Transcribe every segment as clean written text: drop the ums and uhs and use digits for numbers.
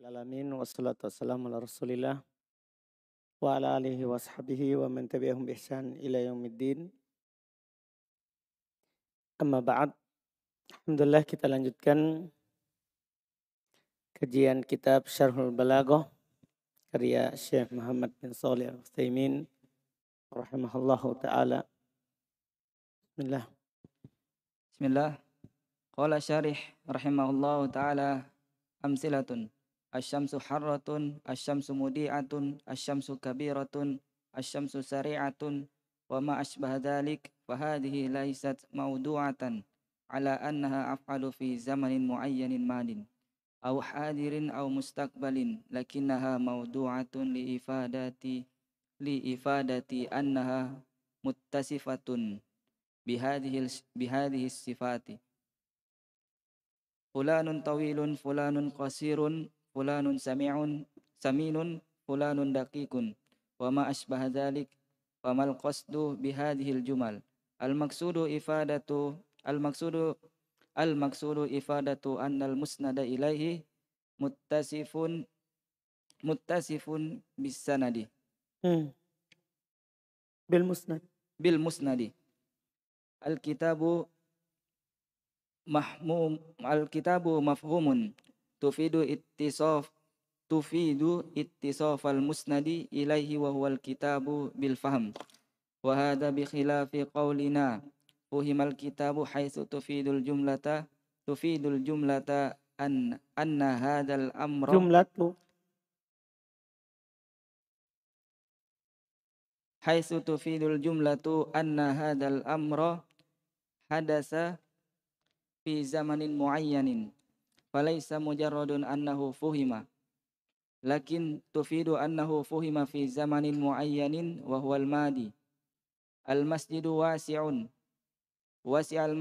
Alamin wassalatu wassalamu ala rasulillah wa ala alihi wa sahbihi wa man tabi'ahum bi ihsan ila yaumiddin. Amma ba'd. Alhamdulillah kita lanjutkan kajian kitab Syarhul Balaghah karya Syekh Muhammad bin Shalih Al-Utsaimin rahimahullahu taala. Bismillah. Bismillah. Qala syarih rahimahullahu ta'ala amsilatun. Asyamsu harratun, asyamsu mudi'atun, asyamsu kabiratun, asyamsu sari'atun, wa ma asbah dhalik, fahadihi laysat mawdu'atan ala annaha af'alu fi zamanin muayyanin madin aw hadirin aw mustaqbalin, lakinnaha mawdu'atun li ifadati annaha muttasifatun bihadhihi sifati. Fulanun tawilun, fulanun qasirun, fulanun saminun, fulanun daqiqun, wa ma asbaha dhalik, famal qasdu bihadhil jumal. Al-maqsudu ifadatu annal musnada ilaihi muttasifun bisanadi. Bil musnad. Al-kitabu mafhumun tufidu ittisaf al-musnadi ilaihi wa huwa al-kitabu bil fahm, wa hadha bi khilafi qawlina fuhimal kitabu haitsu tufidul jumlata anna hadzal amra haitsu tufidul jumlatu anna hadzal amra hadasa fi zamanin muayyanin, falaysa mujarradun annahu fuhima, lakin tufidu annahu fuhima fi zamanin muayyanin wa huwal madi. Al-masjidu wasi'un, wasi'al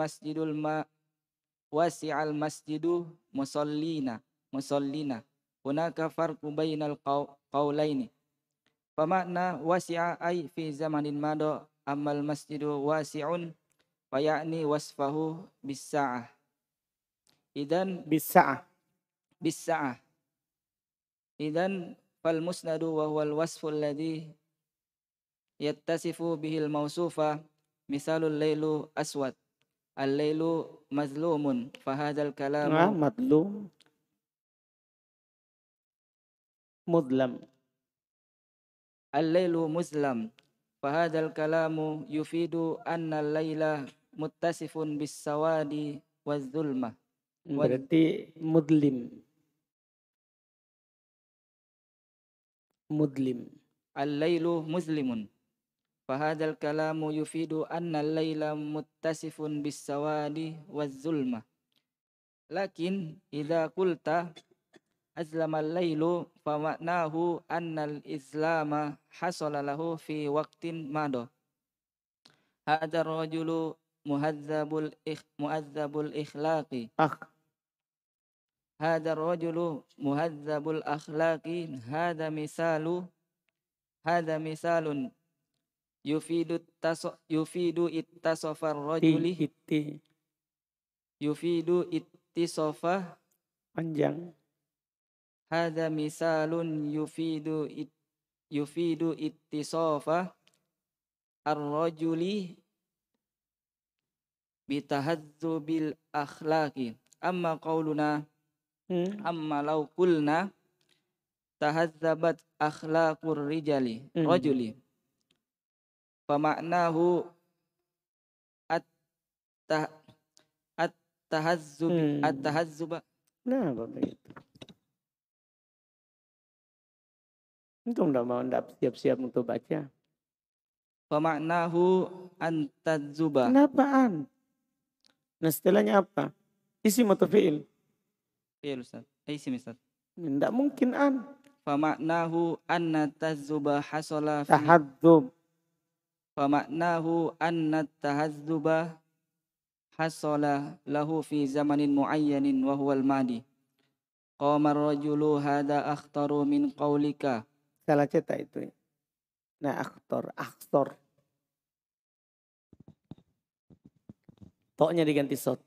masjidu musallina, hunaka farqu bainal qawlaini, famakna wasi'a ay fi zamanin mada, ammal masjidu wasi'un faya'ni wasfahu bis-sa'ah. Idan bis-sa'ah. Idan fal musnadu wa huwal wasfu alladhi yattasifu bihil mawsufa, misalul lailu aswad, al-lailu mazlumun, fahadzal kalamu mudlam. Al-lailu muzlam, fahadzal kalamu yufidu anna al-laila muttasifun bis-sawadi waz-zulmah. Berarti mudlim. Al-lailu muslimun, fahadzal kalamu yufidu anna al-laila muttasifun bis-sawadi waz-zulmah. Lakin idza qulta azlama al-lailu famaknahu anna al-islama hasala lahu fi waqtin mada. Hadzal rajulu muhadzabul ikhlaqi. Hadzal rajulu muhadzabul akhlaqi. Hadza misalun yufidu ittasafar rajuli. Yufidu ittisafa panjang. Hadza misalun yufidu ittisafa ar-rajuli bitahadzubil akhlaqi. Amma qauluna amma law qulna tahazzabat akhlaqur rajuli famaknahu at-tahazzuba. Nah, Bapak itu. Untung enggak siap-siap untuk baca. Famaknahu antadzuba. Kenapaan? Nah, setelahnya apa? Isim atau fi'il? Fi'il, Ustaz. Isim, Ustaz. Enggak mungkin an. Famaknahu anna tazzuba hasala fi Tahadzub. Famaknahu anna tahazzuba hasala lahu fi zamanin muayyanin wa huwal madi. Qamar rajulu hadha akhtaru min qawlika. Salah cetak itu. Nah, akhtar. Toknya diganti sod.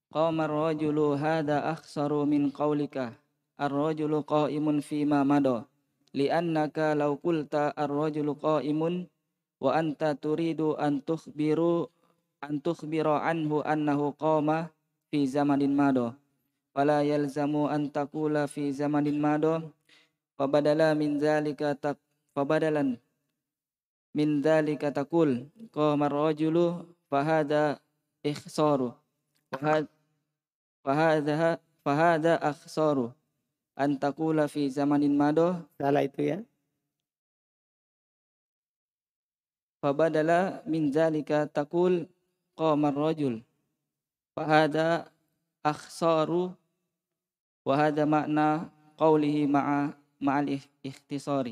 qama ar-rajulu hadha akhsaru min qawlika ar-rajulu qa'imun fima mada li'annaka law qulta ar-rajulu qa'imun wa anta turidu an tukhbira anhu annahu qama fi zamanin mada fala yalzamu an taqula fi zamanin mada fabadalan min dzalika taqul qama ar-rajulu fahada ikhsaru fahada akhsaru an taqula fi zamanin mada. Salah itu ya. Fabadala min dzalika taqul qama ar-rajul fahada akhsaru wa hada makna qawlihi ma'al ikhtisari.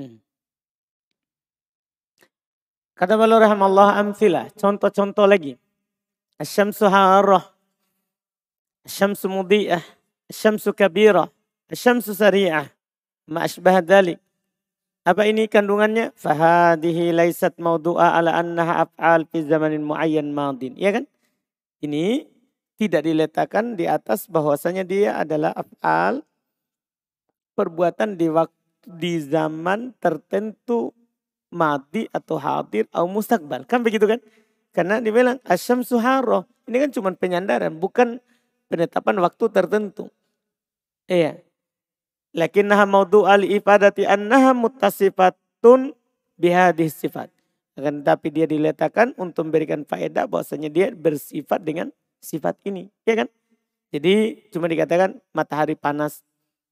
Kata beliau rahimallahu amthilah, contoh-contoh lagi. Asy-syamsu harrah, asy-syamsu mudhi'ah, asy-syamsu kabirah, asy-syamsu sari'ah, ma asbah dzalik. Apa ini kandungannya? Fahadihi laisat mawdu'a ala annaha af'al fi zamanin muayyan madin. Ya kan? Ini tidak diletakkan di atas bahwasanya dia adalah af'al perbuatan di zaman tertentu madi atau hadir atau mustaqbal. Kan begitu kan? Karena dibilang asyamsu harrah. Ini kan cuma penyandaran, bukan penetapan waktu tertentu. Iya. Lakinnaha mawdu'a li ifadati annaha muttasifatun bihadhihi sifat. Akan tetapi dia diletakkan untuk memberikan faedah bahwasanya dia bersifat dengan sifat ini. Ya kan? Jadi cuma dikatakan matahari panas,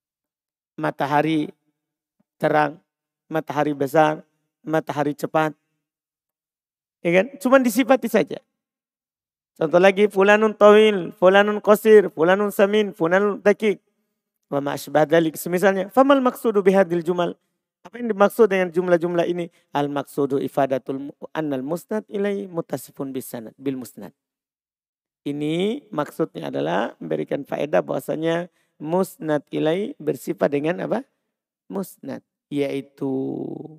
matahari terang, matahari besar, matahari cepat. Ya kan? Cuma disifati saja. Contoh lagi, fulanun tawil, fulanun qasir, fulanun samin, fulanun dakik. Wa ma asbah dzalik. Semisalnya, famal maqsudu bihadil jumal? Apa yang dimaksud dengan jumlah-jumlah ini? Al maqsudu ifadatul annal musnad ilai mutasifun bisanad bil musnad. Ini maksudnya adalah memberikan faedah bahwasanya musnad ilai bersifat dengan apa? Musnad, yaitu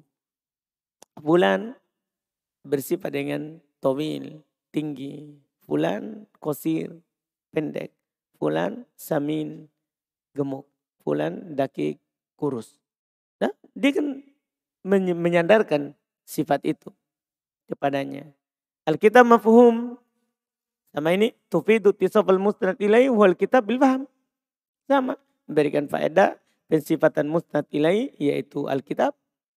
fulan bersifat dengan tawil, tinggi, fulan qasir, pendek, fulan samin, gemuk, fulan dakik, kurus. Nah, dia kan menyandarkan sifat itu kepadanya. Al-kitab mafhum sama ini tufidu tisafal musnad ilai wal kitab bil faham. Sama, memberikan faedah pensifatan musnad ilai yaitu al-kitab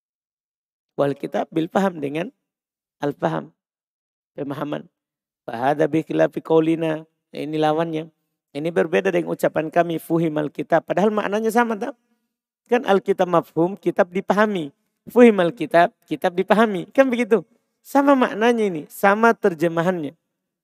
wal kitab bil faham dengan al-faham, pemahaman. Fahada bi khilafi qaulina, ini lawannya. Ini berbeda dengan ucapan kami fuhimal kitab. Padahal maknanya sama tak? Kan Alkitab mafhum, kitab dipahami. Fuhimal kitab, kitab dipahami. Kan begitu. Sama maknanya ini. Sama terjemahannya.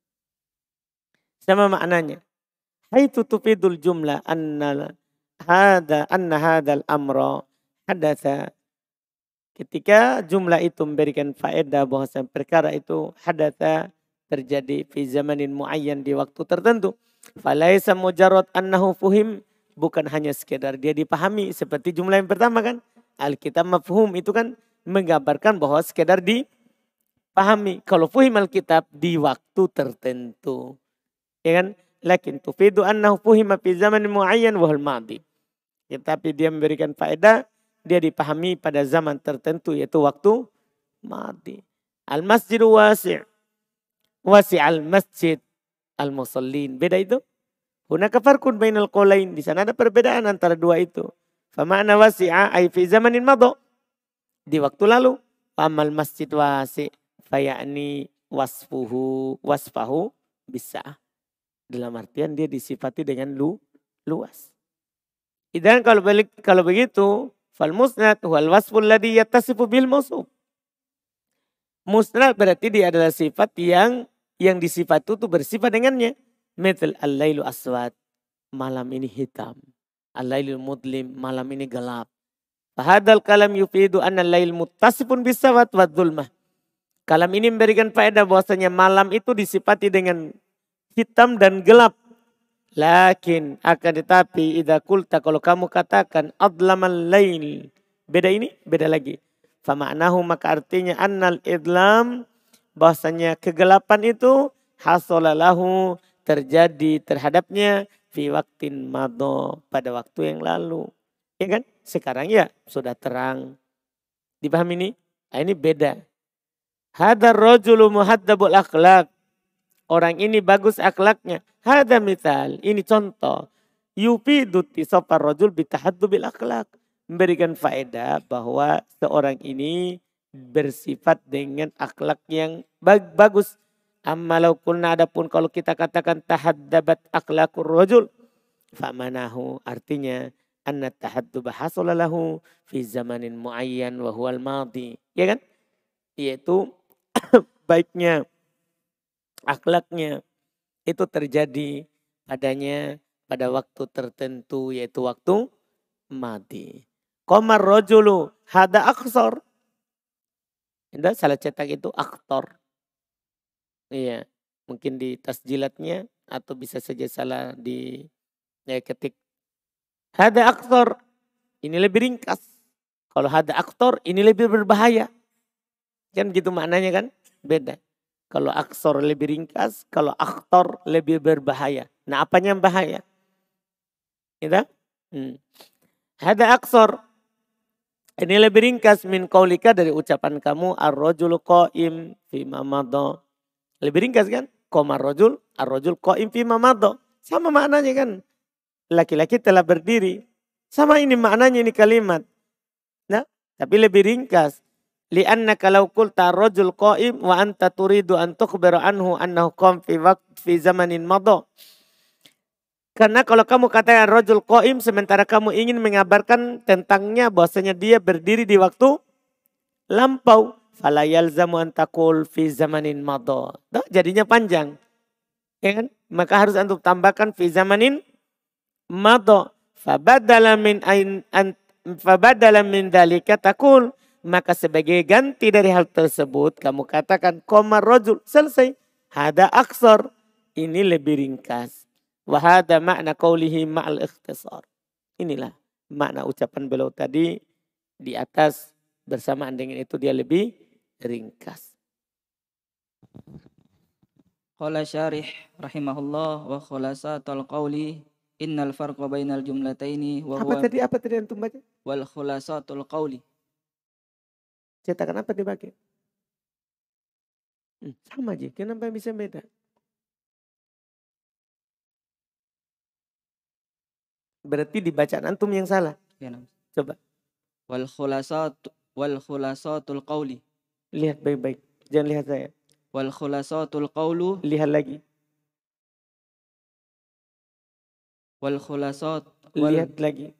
Sama maknanya. Haitsu tufidul jumlah anna hadal amra hadatsa. Ketika jumlah itu memberikan faedah bahwasanya perkara itu hadatsa terjadi fi zamanin muayyan di waktu tertentu. Falaisa mujarrad annahu fuhim, bukan hanya sekedar dia dipahami seperti jumlah yang pertama kan. Alkitab mafhum itu kan menggambarkan bahwa sekedar dipahami. Kalau fuhim alkitab di waktu tertentu. Ya kan? Lakin tufidu annahu fuhima fi zamanin muayyan wa hal madi. Tetapi dia memberikan faedah dia dipahami pada zaman tertentu yaitu waktu madi. Al-masjidu wasi'. Wasi'al masjid al-musallin. Beda itu. Hunaka farqun bainal qaulain. Di sana ada perbedaan antara dua itu. Fa ma'na wasi'a ay fi zamanin madha. Di waktu lalu. Amal masjid wasi' fa ya'ni wasfahu bisa. Dalam artian dia disifati dengan luas. Dan kalau begitu fal musnad wal wasful ladzi yattasifu bil mawsuf. Musnad berarti dia adalah sifat yang disifat itu bersifat dengannya. Mithal al-lailu aswad, malam ini hitam. Al-lailu mudlim, malam ini gelap. Fahadal kalam yufidu anna al-lail muttasifun bisawat wa dhulmah. Kalam ini memberikan faedah bahwasanya malam itu disifati dengan hitam dan gelap. Lakin akan tetapi idza qulta, kalau kamu katakan adlamal lail, beda ini, beda lagi. Fama'nahu, maka artinya annal idlam, bahwasanya kegelapan itu hasolalahu, terjadi terhadapnya fi waktin mado, pada waktu yang lalu. Ya kan? Sekarang ya sudah terang. Dipahami ini? Nah, ini beda. Hadar rajulu muhaddabul akhlak. Orang ini bagus akhlaknya. Hada misal, ini contoh. Yufidu tisafar rajul bitahaddubil akhlak. Memberikan faedah bahwa seorang ini bersifat dengan akhlak yang bagus. Ammalau kulna, adapun kalau kita katakan tahaddabat akhlakur rajul, famanahu, artinya anna tahadduba hasolalahu fi zamanin muayyan wa huwal madi. Ya kan? Yaitu baiknya akhlaknya itu terjadi padanya pada waktu tertentu, yaitu waktu mati. Qamar rajulu hada aksor. Indah salah cetak itu aktor. Iya, mungkin di tasjilatnya atau bisa saja salah di ketik. Hada aktor, ini lebih ringkas. Kalau hada aktor, ini lebih berbahaya. Kan gitu maknanya kan? Beda. Kalau aksor lebih ringkas, kalau aktor lebih berbahaya. Nah, apanya yang bahaya? Gitu? Hada aksor, ini lebih ringkas min qaulika, dari ucapan kamu ar-rajulu qa'im fi mamadha. Lebih ringkas kan? Qamar rajul, ar-rajul qa'im fi mamadha. Sama maknanya kan? Laki-laki telah berdiri. Sama ini maknanya ini kalimat. Nah, tapi lebih ringkas. Li'annaka law qulta ar-rajul qa'im wa anta turidu an tukhbira anhu annahu qam fi zamanin madha. Karena kalau kamu katakan rajul qa'im sementara kamu ingin mengabarkan tentangnya bahwasanya dia berdiri di waktu lampau, fala yalzamu an taqul fi zamanin madha. Jadinya panjang. Ya kan? Maka harus antum tambahkan fi zamanin madha. Fabadala min dalika taqul, maka sebagai ganti dari hal tersebut kamu katakan qamar rajul, selesai. Hada aksar, ini lebih ringkas. Wahada makna qawlihi ma'al ikhtisar. Inilah makna ucapan beliau tadi di atas, bersamaan dengan itu dia lebih ringkas. Qala syarih rahimahullah wa khulasatul qawli innal farqa bainal jumlataini wa huwa Apa tadi antum baca? wal khulasatul qawli. Cetakan apa dipakai? Sama aja, kenapa bisa beda? Berarti di bacaan antum yang salah. Ya, Coba. Wal khulasatul qawli. Lihat baik-baik. Jangan lihat saya. Wal khulasatul qawlu. Lihat lagi. Wal khulasat. Lihat lagi.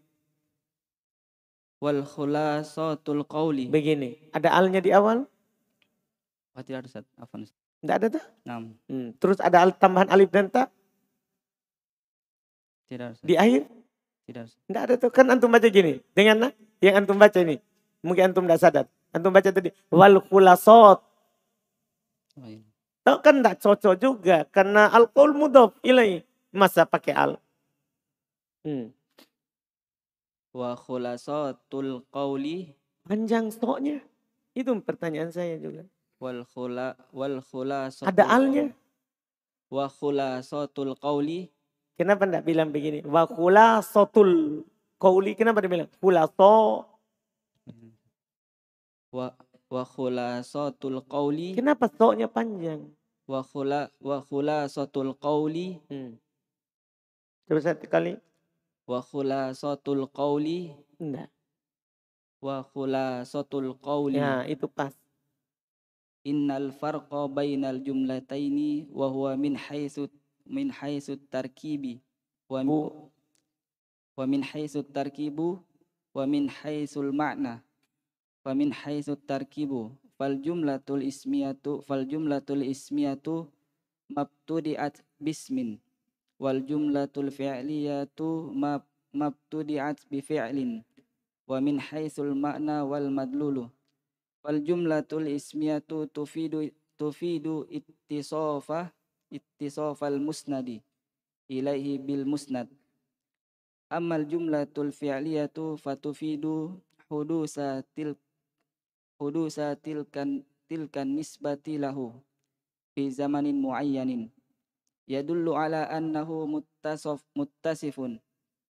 Wal khulasatul qawli. Begini. Ada alnya di awal? Oh, tidak ada, Ustaz. Afwan. Tidak ada tuh? Terus ada tambahan alif dan ta? Tidak ada, Ustaz. Di akhir? Tidak. Tidak ada tuh. Kan antum baca gini. Dengan yang antum baca ini. Mungkin antum tidak sadar. Antum baca tadi. Wal khulasat. Oh, iya. Tahu kan tidak cocok juga. Karena al-qaul mudhaf ilai. Masa pakai al? Wa khulasatul qawli. Panjang stoknya. Itu pertanyaan saya juga. Wal khulasatul. Ada alnya. Wa khulasatul qawli. Kenapa tidak bilang begini? Wa khulasatul qawli. Kenapa dia bilang? Khulaso. Wa khulasatul qawli. Kenapa stoknya panjang? Wa khulasatul qawli. Coba satu kali. Wa khulasatul qawli. Enggak. Wa khulasatul qawli. Ya, itu pas. Innal farqa bainal jumlataini wa huwa min haythu tarkibi wa min haythu tarkibu wa min haythul ma'na wa min haythu tarkibu fal jumlatul ismiyatu mabtudi'at bismin wal jumlatul fi'liyatu mabtudi'at bi fi'lin wa min haythul ma'na wal madlulu wal jumlatul ismiyatu tufidu ittisafal musnadi ilaihi bil musnad. Ammal jumlatul fi'liyatu fatufidu hudusa tilkan nisbati lahu fi zamanin muayyanin yadullu ala annahu muttasifun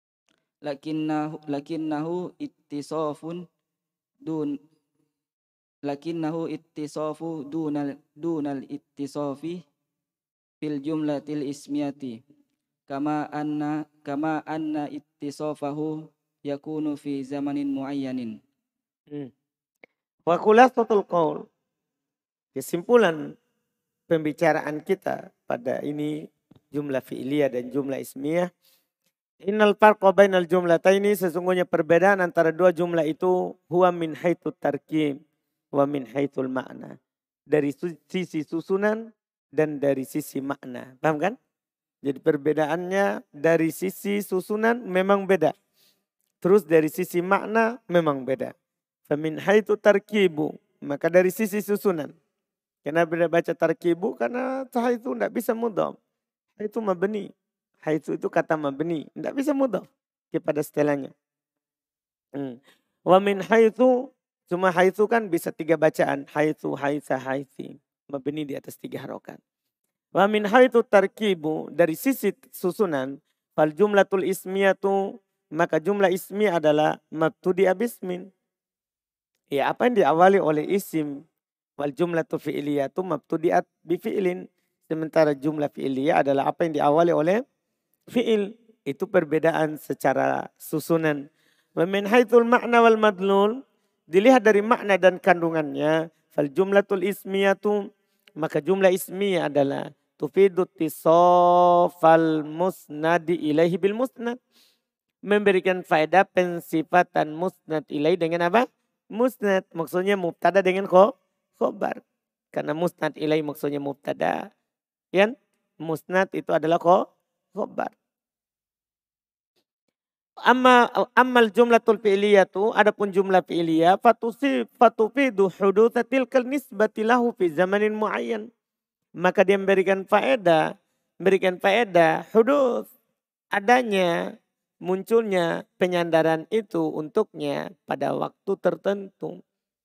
lakinnahu ittisafun dun lakinnahu ittisafu dunal ittisafi fil jumlatil ismiyati kama anna ittisafahu yakunu fi zamanin muayyanin. Wa khulasatul qaul, kesimpulan pembicaraan kita pada ini jumlah fi'liyah dan jumlah ismiyah. Innal farqa bainal jumlataini, sesungguhnya perbedaan antara dua jumlah itu huwa min haitsu tarkib wa min haitsul makna. Dari sisi susunan dan dari sisi makna. Paham kan? Jadi perbedaannya dari sisi susunan memang beda. Terus dari sisi makna memang beda. Famin haitsu tarkibu, maka dari sisi susunan. Kenapa dia baca tarkibu? Karena itu tidak bisa mudhaf. Itu mabni. Haitsu itu kata mabni. Tidak bisa mudhaf kepada setelahnya. Wa min haitsu, cuma haitsu kan bisa 3 bacaan. Haitsu, haitsa, haitsi. Mabni di atas 3 harokat. Wa min haitsu tarkibu, dari sisi susunan. Fal jumlatul ismiyatu, maka jumlah ismi adalah mabtudi abismin. Ya, apa yang diawali oleh isim. Wal jumlatu fi'liyatu mabtudiat bifi'lin. Sementara jumlah fi'liyah adalah apa yang diawali oleh fi'il. Itu perbedaan secara susunan. Wa min haitsul makna wal madlul, dilihat dari makna dan kandungannya. Fal jumlatul ismiyatu, maka jumlah ismiyah adalah tufidu tisofal musnadi ilaihi bil musnad. Memberikan faedah pensifatan musnad ilaihi dengan apa? Musnad. Maksudnya mubtada dengan khobar. Karena musnad ilaihi maksudnya mubtada. Ya? Musnad itu adalah khobar. Ammal jumlatul fi'liyatu, adapun jumlah fi'liyah fatufidu hudutsatil nisbati lahu fi zamanin muayyan. Maka dia memberikan faedah hudud, adanya, munculnya penyandaran itu untuknya pada waktu tertentu.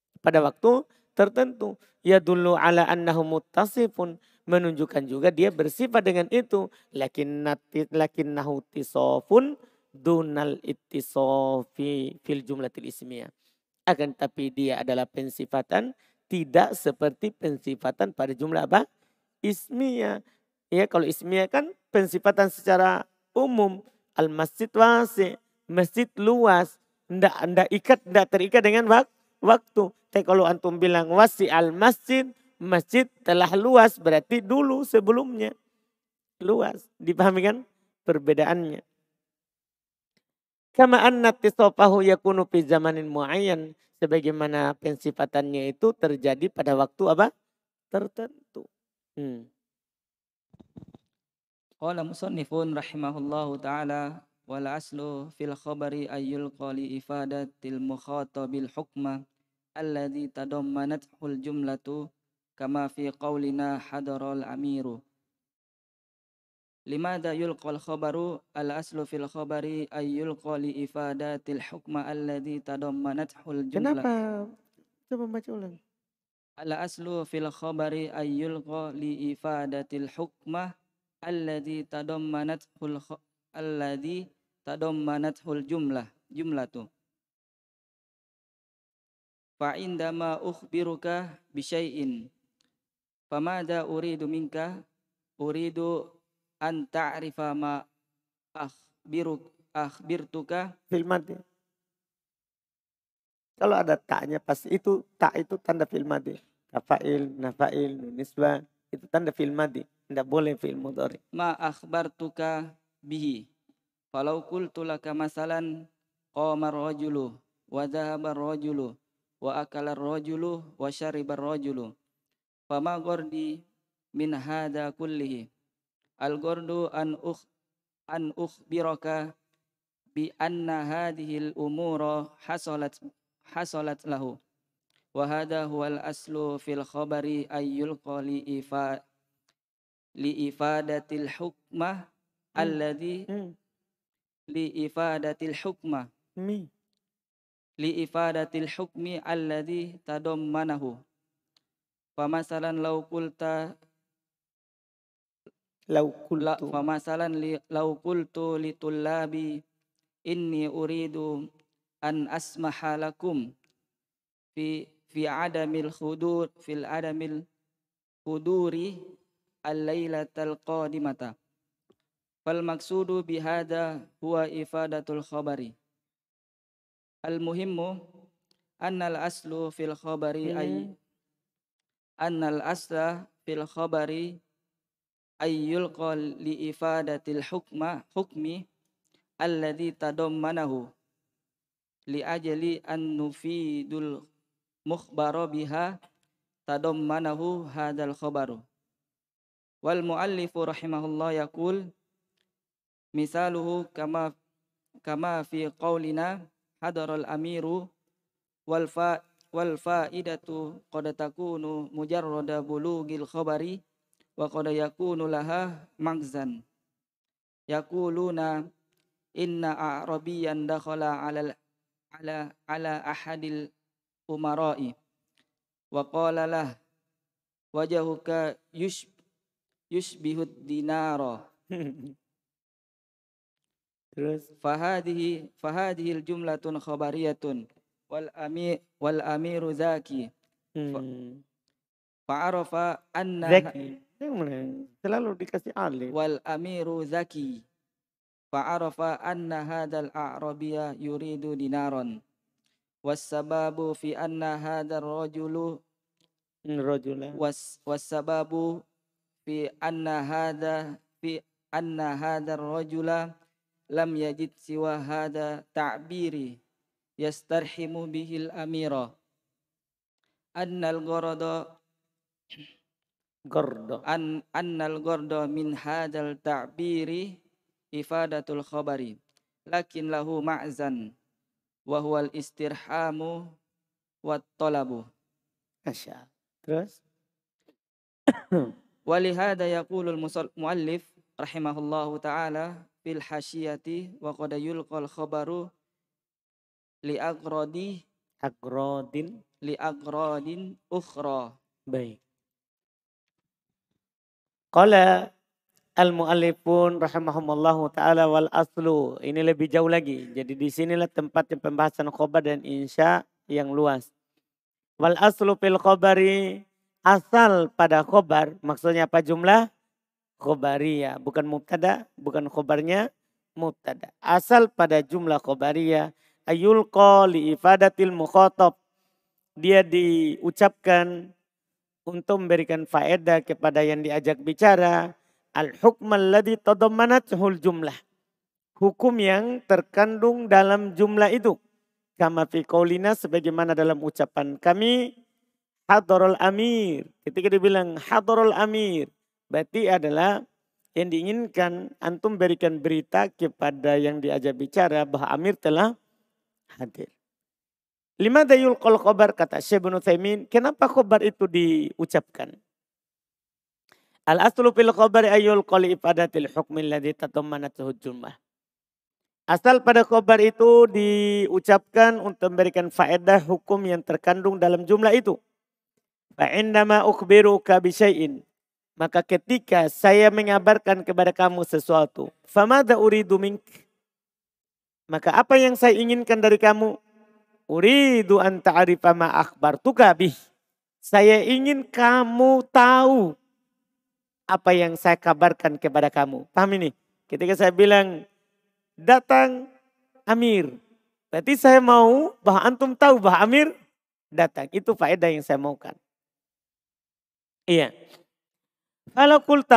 Ya dulu ala annahu muttasifun, menunjukkan juga dia bersifat dengan itu. Lakinnahu tisofun dunal ittisofi fil jumlatil ismiyah. Akan tapi dia adalah pensifatan tidak seperti pensifatan pada jumlah apa? Ismiyah. Ya, kalau ismiyah kan pensifatan secara umum. Al-masjid wasi, masjid luas. Tidak terikat dengan waktu. Tapi kalau antum bilang wasi al-masjid, masjid telah luas, berarti dulu sebelumnya luas. Dipahami kan perbedaannya? Kama anna tisofahu yakunu fi zamanin muayyan, sebagaimana pensifatannya itu terjadi pada waktu apa? Tertentu. Qala musannifun rahimahullahu ta'ala wal aslu fil khabari ayyul qali ifadatil mukhatabil hukma alladhi tadammanathul jumlatu kama fi qawlina hadaral amiru. Limada yulqal khabaru al aslu fil khabari ayyul qali ifadatil hukma alladhi tadammanathul jumlah. Kenapa? Coba baca ulang. Al aslu fil khabari ayyul qali ifadatil hukma alladhi tadammanathul jumlatu. Fa indama ukhbiruka bi syai'in famada uridu minka, uridu an ta'rifa ma akhbirtuka Fil madi. Kalau ada taknya pas itu, tak itu tanda fil madi. Kafail, nafail, nisbah, itu tanda fil madi. Tidak boleh fil mudhari. Ma akhbartuka bihi. Falau qultu laka masalan qama ar-rajulu wa dhahaba ar-rajulu wa akala ar-rajulu wa shariba ar-rajulu. Fama ghardi min hadha kullihi. Al-ghardu an ukhbiraka bi anna hadhihi al-umura hasalat lahu. Wa hadha huwa al-aslu fil khabari ayyul qali li ifadatil hukmah alladhi li ifadatil hukmi alladhi tadammanahu. Famasalan law qulta Lau La kultu. famasalan lau qultu litullabi inni uridu an asmaha lakum fi adamil khudur fil adamil khuduri al-lailatal qadimata. Fal maksudu bihada huwa ifadatul khabari. Al muhimmu annal aslu fil khabari annal asla fil khabari ayyulqa li ifadatil hukmi alladhi tadammanahu li ajli an nufidul mukhbara biha tadammanahu hadzal khabaru. Wal muallifu rahimahullah yaqul misaluhu kama fi qaulina hadaral amiru wal faidatu qad takunu mujarrada bulugil khabari wa qad yakunu laha magzan yaquluna inna a'rabiyan dakhala ala ahadil umara'i wa qala lah wajahuka yushbihud dinara. Terus fahadihil jumlatun khabariyatun wal amiru zaki fa'arafa anna Zaki. Selalu dikasih alif. wal amiru zaki fa'arafa anna hadzal a'rabiyya yuridu dinaron wassababu fi anna hadzal rajulu Rajula. wassababu fi anna hadzal rajula lam yajid siwa hada ta'biri yastarhimu bihil amira annal gordo min hadal ta'biri ifadatul khabari lakin lahu ma'zan wa huwal istirhamu wat talabu. Masya. Terus Walihada yaqulul muallif rahimahullahu ta'ala fil hasyiyati wa qad yulqal khabaru li agradin ukhra. baik. Qala al-muallifun rahimahumullahu ta'ala wal aslu. Ini lebih jauh lagi. Jadi di sinilah tempatnya pembahasan khobar dan insya yang luas. Wal aslu fil khobari. Asal pada khobar. Maksudnya apa jumlah? Khobariyah. Bukan mubtada. Bukan khobarnya mubtada. Asal pada jumlah khobariyah. Ayulqa li ifadatil mukhatab. Dia diucapkan untuk memberikan faedah kepada yang diajak bicara. Al-hukm alladhi tadammanathu jumlah. Hukum yang terkandung dalam jumlah itu. Kama fi qaulina sebagaimana dalam ucapan kami. Hadarul amir. Ketika dibilang hadarul amir. Berarti adalah yang diinginkan antum berikan berita kepada yang diajak bicara bahwa amir telah hadir. Lima dayul qol khobar kata Syekh Ibnu Utsaimin. Kenapa khobar itu diucapkan? Al-aslu fil khabari ayyul qali ifadatil hukmi alladhi tadammanathu jumlah. Asal pada khobar itu diucapkan untuk memberikan faedah hukum yang terkandung dalam jumlah itu. Fa'indama ukhbiruka bisyai'in. Maka ketika saya mengabarkan kepada kamu sesuatu. Famada uridu mink. Maka apa yang saya inginkan dari kamu? Uridu an ta'arifa ma akhbartuka bih. Saya ingin kamu tahu apa yang saya kabarkan kepada kamu. Paham ini? Ketika saya bilang datang amir. Berarti saya mau bahwa antum tahu bahwa amir datang. Itu faedah yang saya maukan. Iya. Kalau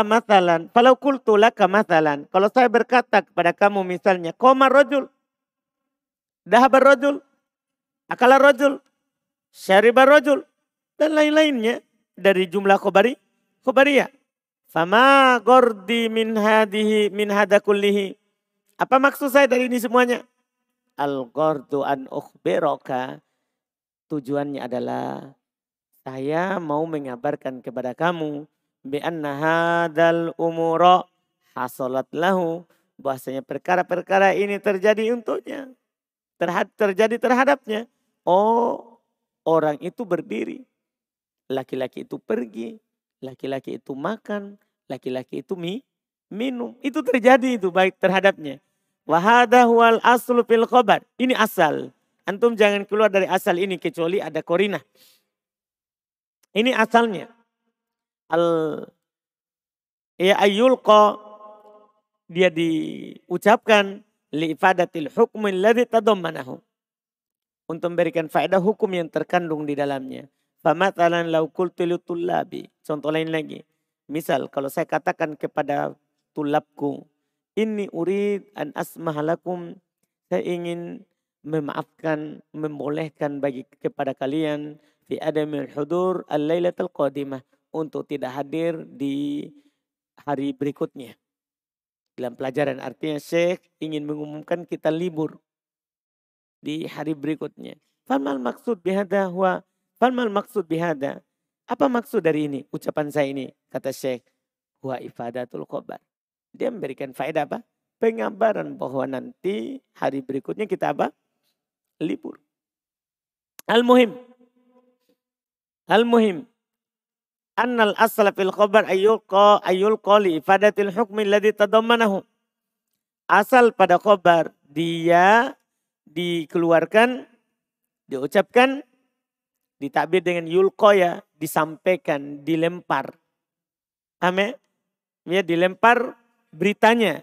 kultu laka mathalan. Kalau saya berkata kepada kamu misalnya. Qomar rajul. Dahabar rajul. Akala rajul. Syaribar rajul. Dan lain-lainnya. Dari jumlah khobariyah. Fama gordi min hada kullihi. Apa maksud saya dari ini semuanya? Al-gordu an ukhbiroka. Tujuannya adalah saya mau mengabarkan kepada kamu bi anna hadzal umura hasalat lahu, bahwasanya perkara-perkara ini terjadi untuknya, terjadi terhadapnya. Oh, orang itu berdiri, laki-laki itu pergi, laki-laki itu makan, laki-laki itu minum. Itu terjadi itu baik terhadapnya. Wahada huwal aslu fil khobar. Ini asal. Antum jangan keluar dari asal ini kecuali ada korinah. Ini asalnya. Ayyulqa dia diucapkan li'ifadatil hukmi alladhi tadammanahu. Untuk memberikan faedah hukum yang terkandung di dalamnya. Famathalan law qultu litullabi. Contoh lain lagi. Misal kalau saya katakan kepada tulabku, inni urid an asmahalakum, saya ingin memaafkan, membolehkan bagi kepada kalian fi adamil hudur al-lailatul qadimah, untuk tidak hadir di hari berikutnya. Dalam pelajaran artinya Syekh ingin mengumumkan kita libur di hari berikutnya. Falmal maksud bihada huwa, falmal maksud bihada. Apa maksud dari ini? Ucapan saya ini, kata Syekh, huwa ifadatul khobar. Dia memberikan faedah apa? Pengabaran bahwa nanti hari berikutnya kita apa? Libur. Al-muhim. Al-muhim. Annal asla fil khobar ayyulqa li ifadatil hukmi alladhi tadammanahu. Asal pada khobar dia dikeluarkan, diucapkan, ditakbir dengan yulqa ya, disampaikan, dilempar. Paham ya? Dilempar beritanya,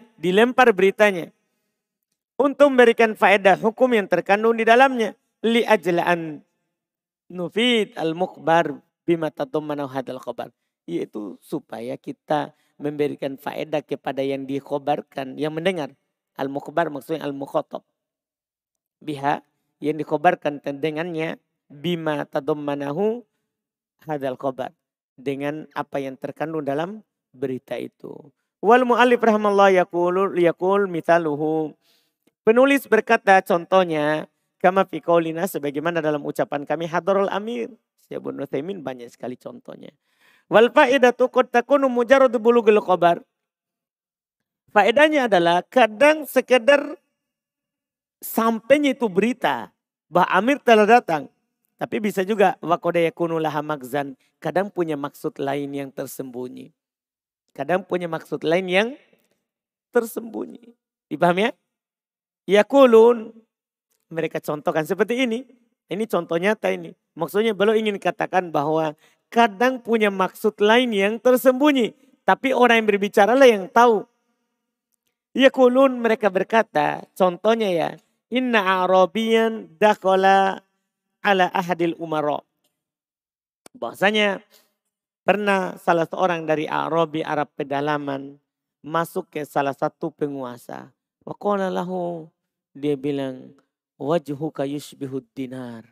untuk memberikan faedah hukum yang terkandung di dalamnya. Li ajla'an nufid al-mukhbar bima tadammanahu hadal khobar. Yaitu supaya kita memberikan faedah kepada yang dikhobarkan, yang mendengar. Al-mukhbar maksudnya al-mukhatab. Biha, yang dikhobarkan dengannya, bima tadammanahu hadal khobar. Dengan apa yang terkandung dalam berita itu. Wal mu'allif rahimallahu yaqul mithaluhu. Penulis berkata contohnya, kama fi qaulina, sebagaimana dalam ucapan kami, hadarul amir. Syekh Ibnu Utsaimin banyak sekali contohnya. Wal faedatu qad takunu mujarrad bulughul khabar. Faedahnya adalah kadang sekedar sampainya itu berita bahwa amir telah datang. Tapi bisa juga waqad yakunu laha magzan, kadang punya maksud lain yang tersembunyi. Kadang punya maksud lain yang tersembunyi. Dipahami ya? Yaqulun, mereka contohkan seperti ini. Ini contoh nyata ini. Maksudnya beliau ingin katakan bahwa kadang punya maksud lain yang tersembunyi. Tapi orang yang berbicara lah yang tahu. Yaqulun, mereka berkata, contohnya ya. Inna Arabiyan dakhala ala ahadil umara. Bahasanya pernah salah seorang dari Arabi, Arab pedalaman, masuk ke salah satu penguasa. Wa qala lahu, dia bilang, wajhuka yushbihud dinar.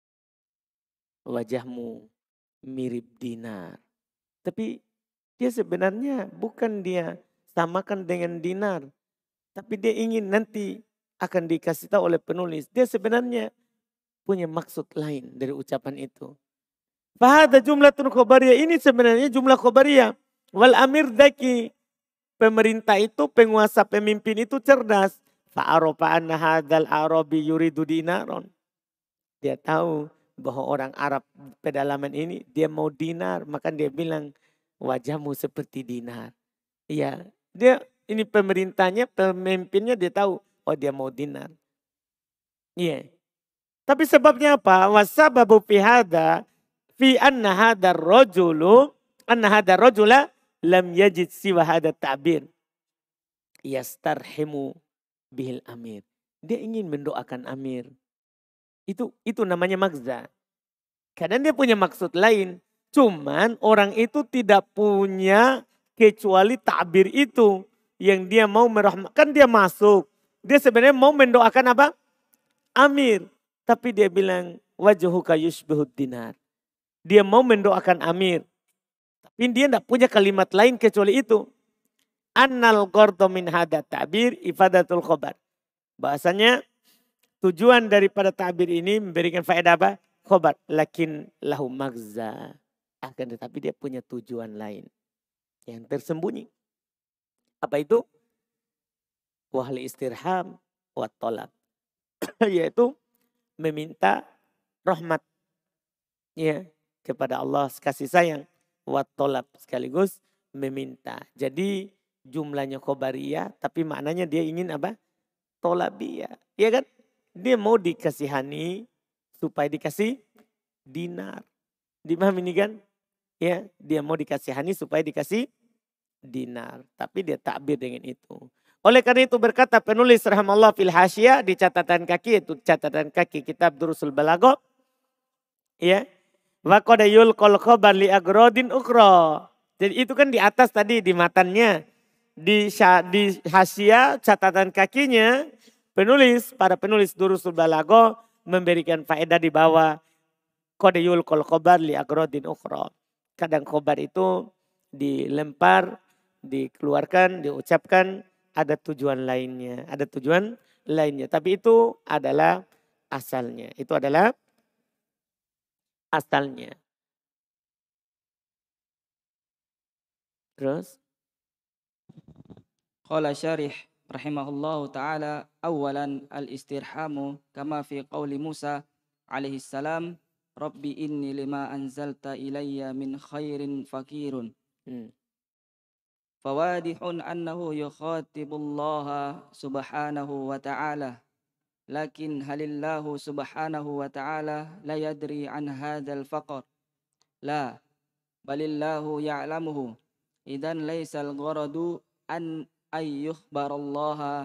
Wajahmu mirip dinar. Tapi dia sebenarnya bukan dia samakan dengan dinar. Tapi dia ingin nanti akan dikasih tahu oleh penulis. Dia sebenarnya punya maksud lain dari ucapan itu. Fahada jumlatun khobariyah. Ini sebenarnya jumlah khobariyah. Wal amir daki. Pemerintah itu, penguasa, pemimpin itu cerdas. Fa'arofa anna hadal arabi yuridu dinaron. Dia tahu bahwa orang Arab pedalaman ini dia mau dinar. Maka dia bilang wajahmu seperti dinar. Iya, dia ini pemerintahnya, pemimpinnya dia tahu. Oh dia mau dinar. Iya. Tapi sebabnya apa? Wasababu fi hada fi anna hadar rajula lam yajid siwa hada ta'bir. Yastarhimu bihil amir. Dia ingin mendoakan amir. Itu namanya magza. Kadang dia punya maksud lain. Cuman orang itu tidak punya kecuali ta'bir itu. Yang dia mau merahmatkan, dia masuk. Dia sebenarnya mau mendoakan apa? Amir. Tapi dia bilang wajhuka yushbihud dinar. Dia mau mendoakan amir. Tapi dia tidak punya kalimat lain kecuali itu. Annal qardu min hada ta'bir ifadatul khobar. Bahasanya tujuan daripada ta'bir ini memberikan faedah apa? Khobar. Lakin lahu magza. Akan tetapi dia punya tujuan lain. Yang tersembunyi. Apa itu? Wahli istirham wa tolab. Yaitu meminta rahmat. Ya, kepada Allah kasih sayang. Wa tolab sekaligus meminta. Jadi jumlahnya khobariyah, tapi maknanya dia ingin apa? Tolabiyah. Ya kan? Dia mau dikasihani supaya dikasih dinar. Dipahami ini kan? Ya, dia mau dikasihani supaya dikasih dinar. Tapi dia takbir dengan itu. Oleh karena itu berkata penulis rahimallahu fil hasyiyah di catatan kaki, itu catatan kaki kitab Durusul Balaghah. Ya. Wa qad yulqal khabar li agrodin ukhra. Jadi itu kan di atas tadi di matannya. Di hasyiyah catatan kakinya para penulis Durusul Balaghah memberikan faedah di bawah qad yulqal khabar li agrodin ukhra. Kadang khobar itu dilempar, dikeluarkan, diucapkan ada tujuan lainnya. Ada tujuan lainnya. Tapi itu adalah asalnya. Itu adalah asalnya. Terus? Qala syarih rahimahullahu ta'ala awalan al-istirhamu kama fi qawli Musa alaihi salam Rabbi inni lima anzalta ilayya min khairin fakirun. Fawadihun annahu yukhatibullaha subhanahu wa ta'ala. Lakin halillahu subhanahu wa ta'ala la yadri an hadzal faqr. La, balillahu ya'lamuhu. Idan laysal gharadu an ayyukhbirallaha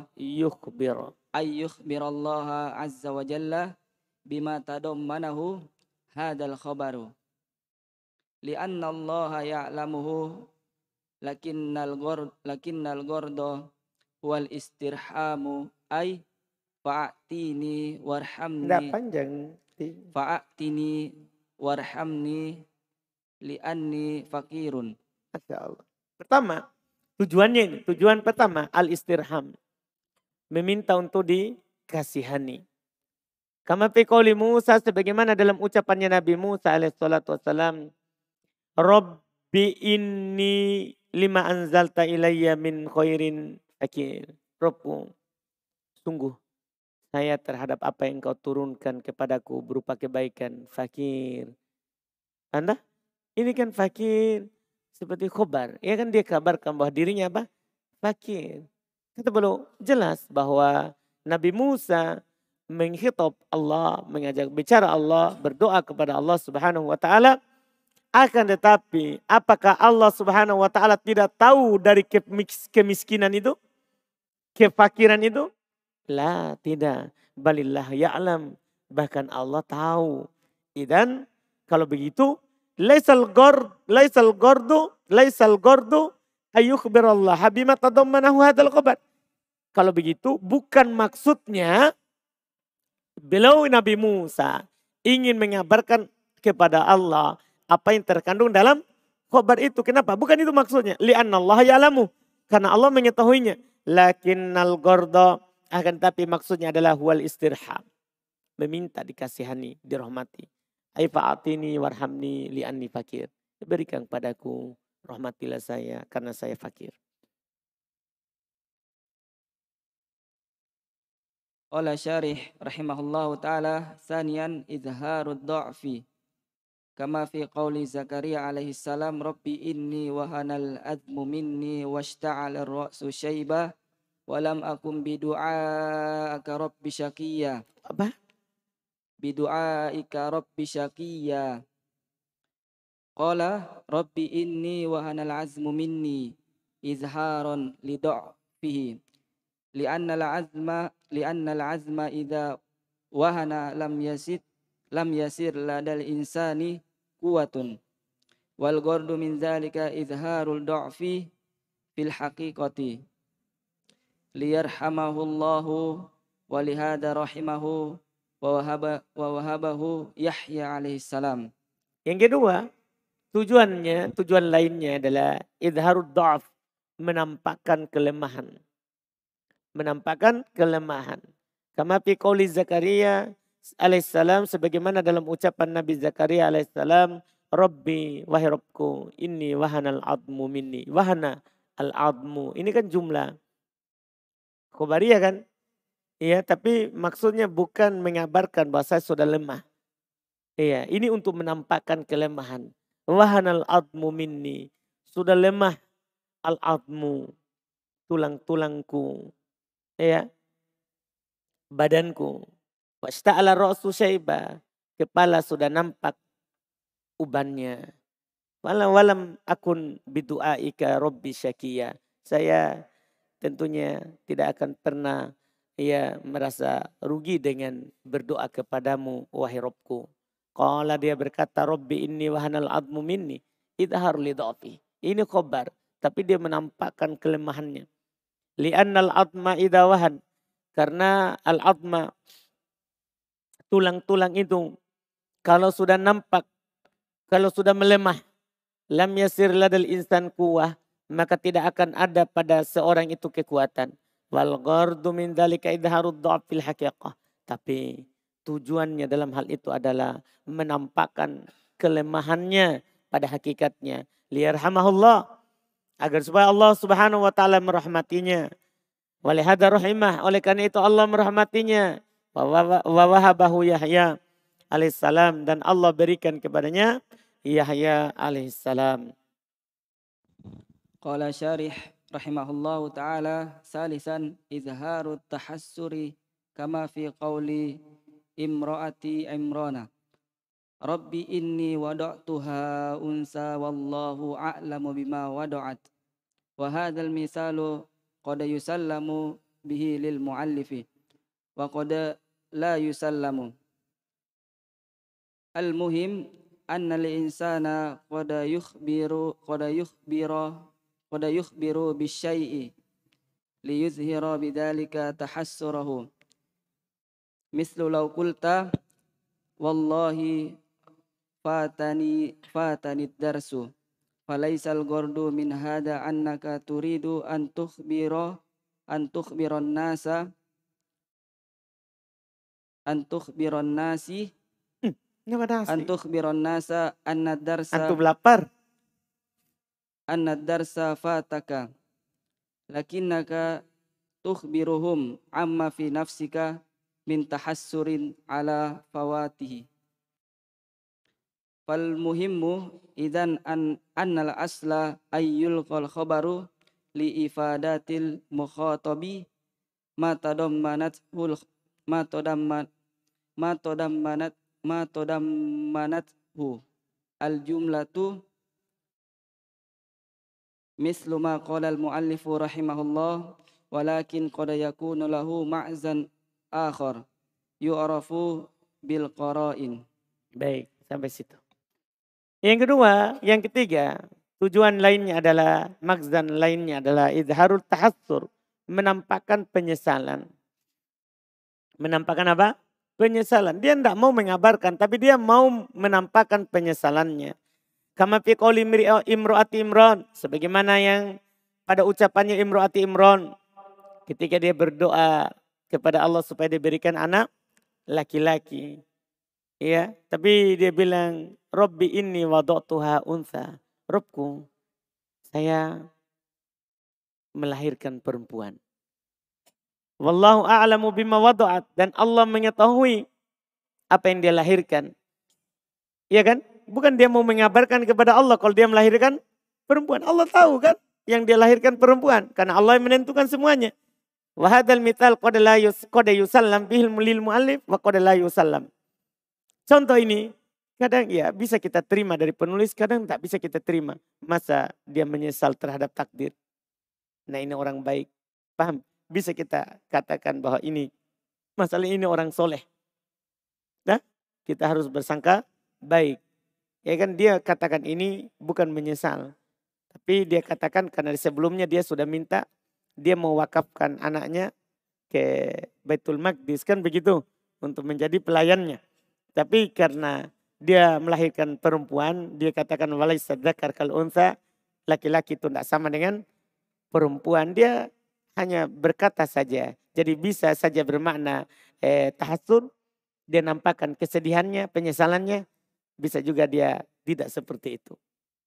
azza wa jalla bima tadammanahu hadzal khabaru. Li'anna Allah ya'lamuhu lakinnal gharda wal istirhamu ay fa'atini warhamni. Tidak panjang. Fa'atini warhamni li'anni fakirun. Masya Allah. Pertama, tujuannya ini. Tujuan pertama, al-istirham. Meminta untuk dikasihani. Kama fi qouli Musa, sebagaimana dalam ucapannya Nabi Musa alaihissalatu wassalam. Rabbi inni lima anzalta ilayya min khairin fakir. Rabbu, sungguh saya terhadap apa yang kau turunkan kepadaku berupa kebaikan fakir. Anda? Ini kan fakir seperti khobar. Ya kan dia kabarkan bahwa dirinya apa? Fakir. Kita belum jelas bahwa Nabi Musa menghitab Allah, mengajak bicara Allah, berdoa kepada Allah Subhanahu wa taala. Akan tetapi apakah Allah Subhanahu wa taala tidak tahu dari kemiskinan itu? Kefakiran itu? La, tidak. Balillah ya'lam. Bahkan Allah tahu. Dan kalau begitu, laisal gordu ayyukhbirallah bima tadammanahu hadzal khabar. Kalau begitu bukan maksudnya beliau Nabi Musa ingin mengabarkan kepada Allah apa yang terkandung dalam khabar itu. Kenapa? Bukan itu maksudnya. Li'annallaha ya'lamu. Karena Allah mengetahuinya. Lakinnal gorda, akan tapi maksudnya adalah huwal istirham. Meminta dikasihani, dirahmati. Aifa'atini warhamni li'anni fakir. Berikan padaku, rahmatilah saya karena saya fakir. Qala syarih rahimahullahu ta'ala saniyan izharud dha'fi. Kama fi qawli Zakaria alaihi salam Rabbi inni wahanal admu minni washta'al ar-ra'su syaiba walam akum bidu'aika rabbi syaqiyya. Apa? Bidu'aika rabbi syaqiyya. Qala rabbi inni wahanal azmu minni izharon lidha'fihi. Li'anna al-azma idza wahana lam yasir ladal insani quwwatun. Wal ghardu min dzalika izharul dha'fi fil haqiqati. Liyarhamahullahu wa lihada rahimahu wa wahabahu Yahya alaihi salam. Yang kedua, tujuan lainnya adalah izharud dha'f, menampakkan kelemahan. Menampakkan kelemahan. Kama fi qouli Zakaria alaihissalam, sebagaimana dalam ucapan Nabi Zakaria alaihissalam, Rabbi, wahai Rabbku, inni wahana al-admu minni. Wahana al-admu. Ini kan jumlah khobariyah kan? Iya, tapi maksudnya bukan mengabarkan bahwa saya sudah lemah. Iya, ini untuk menampakkan kelemahan. Wahana al-admu minni. Sudah lemah al-admu. tulang-tulangku, ya, badanku. Wasta'ala ra'su syaiba, kepala sudah nampak ubannya. Walam akun bidu'aika rabbi syakiya. Saya tentunya tidak akan pernah merasa rugi dengan berdoa kepadamu wahai Rabbku. Qala dia berkata Rabbi inni wahanal admu minni idhar li dha'fi. Ini khobar, tapi dia menampakkan kelemahannya. Li'annal adma idha wahan. Karena al-adma, tulang-tulang itu kalau sudah nampak, kalau sudah melemah, lam yasir ladal insan kuwah, maka tidak akan ada pada seorang itu kekuatan. Wal ghardu min dzalika idharud dha'fil haqiqah. Tapi tujuannya dalam hal itu adalah menampakkan kelemahannya pada hakikatnya. Liyarhamahullah, agar supaya Allah Subhanahu wa taala merahmatinya. Walihada rahimah, oleh karena itu Allah merahmatinya. Wa wahabahu Yahya alaihissalam, dan Allah berikan kepadanya Yahya alaihissalam. Qala syarih rahimahullahu ta'ala salisan izharut tahassuri kama fi qawli imra'ati Imrana. Rabbi inni wada'tuha unsa wallahu a'lamu bima wada'at. Wa hadzal misalu qad yusallamu bihi lil muallifi wa qad la yusallamu. Al muhim anna lil insana qad yukhbiru bisyai'i liyuzhira bidzalika tahassurahu. Mislu law qulta wallahi fatani darsu falaisal gordu min hada annaka turidu an tukhbiran nasa anna Antum lapar? darsa fataka lakinnaka tukhbiruhum amma fi nafsika min tahassurin ala fawatihi. Fal muhimmu idan annal asla ayyul khabaru li ifadatil mukhatabi ma tadammanathu al jumlatu mislu ma qala al muallifu rahimahullah walakin qad yakunu lahu ma'zan akhar yu'rafu bil qara'in. Baik, sampai situ. Yang kedua, yang ketiga, tujuan lainnya adalah, maksdan lainnya adalah izharul tahassur, menampakkan penyesalan. Menampakkan apa? Penyesalan. Dia tidak mau mengabarkan, tapi dia mau menampakkan penyesalannya. Kama fi qouli imro'ati Imran, sebagaimana yang pada ucapannya imro'ati Imran ketika dia berdoa kepada Allah supaya diberikan anak laki-laki. Ya, tapi dia bilang Rabbi inni wada'tuha untha. Rabbku, saya melahirkan perempuan. Wallahu a'lamu bima wada'at, dan Allah mengetahui apa yang dia lahirkan. Iya kan? Bukan dia mau mengabarkan kepada Allah kalau dia melahirkan perempuan. Allah tahu kan yang dia lahirkan perempuan, karena Allah yang menentukan semuanya. Wa hadzal mithal qad yusallam bihil lil muallif wa qad la yusallam. Contoh ini kadang ya bisa kita terima dari penulis, kadang tak bisa kita terima. Masa dia menyesal terhadap takdir. Nah ini orang baik. Paham? Bisa kita katakan bahwa ini, masalah ini orang soleh. Nah, kita harus bersangka baik. Ya kan dia katakan ini bukan menyesal. Tapi dia katakan karena sebelumnya dia sudah minta, dia mau wakafkan anaknya ke Baitul Maqdis kan begitu. Untuk menjadi pelayannya. Tapi karena dia melahirkan perempuan, dia katakan walaysa dzakar kal untha, laki-laki itu tidak sama dengan perempuan. Dia hanya berkata saja. Jadi bisa saja bermakna tahassur, dia nampakkan kesedihannya, penyesalannya, bisa juga dia tidak seperti itu.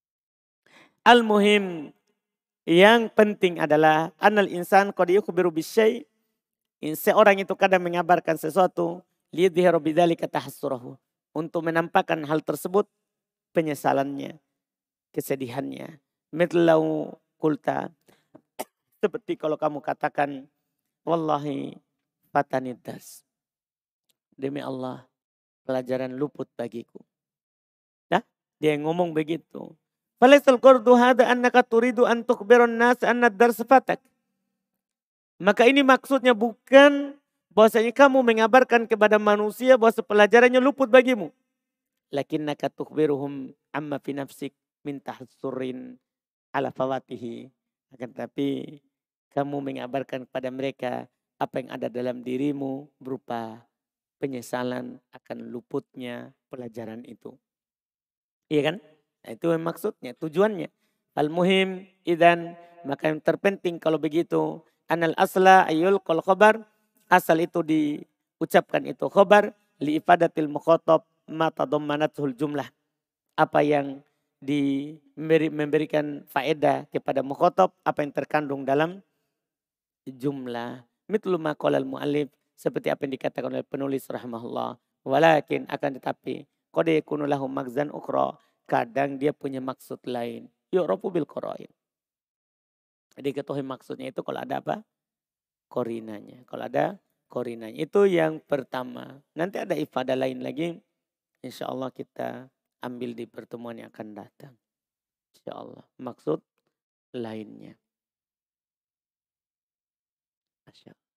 Al-muhim, yang penting adalah anal insan qad yukhbiru bisyai', seorang itu kadang mengabarkan sesuatu liyudhiru bidzalika tahassurahu, untuk menampakkan hal tersebut penyesalannya, kesedihannya. Mitlau kulta Seperti kalau kamu katakan, wallahi fatanid dars. Demi Allah, pelajaran luput bagiku. Nah, dia ngomong begitu. Falaisal qardu hada annaka turidu an tukhbiran nas anna dars fatak. Maka ini maksudnya bukan bahwasanya kamu mengabarkan kepada manusia bahwa pelajarannya luput bagimu. Lakinnaka tukhbiruhum amma fi nafsik min tahassurin ala fawatihi. Akan tetapi kamu mengabarkan kepada mereka apa yang ada dalam dirimu berupa penyesalan akan luputnya pelajaran itu. Iya kan? Nah, itu maksudnya, tujuannya. Al-muhim idan, maka yang terpenting kalau begitu, anal asla ayul kol khobar, asal itu diucapkan itu khobar, li ifadatil mukhotob mata dommanatul jumlah. Apa yang memberikan faedah kepada mukhotob, apa yang terkandung dalam jumlah. Mitlu maqalal mu'allif, seperti apa yang dikatakan oleh penulis rahimahullah. Walakin akan tetapi, qad yakunu lahu magzan ukhra, kadang dia punya maksud lain. Yu'rafu bil qara'in. Diketahui maksudnya itu kalau ada apa? Korinanya. Kalau ada korinanya. Itu yang pertama. Nanti ada ifadah lain lagi. Insya Allah kita ambil di pertemuan yang akan datang. Insya Allah. Maksud lainnya. Masya Allah.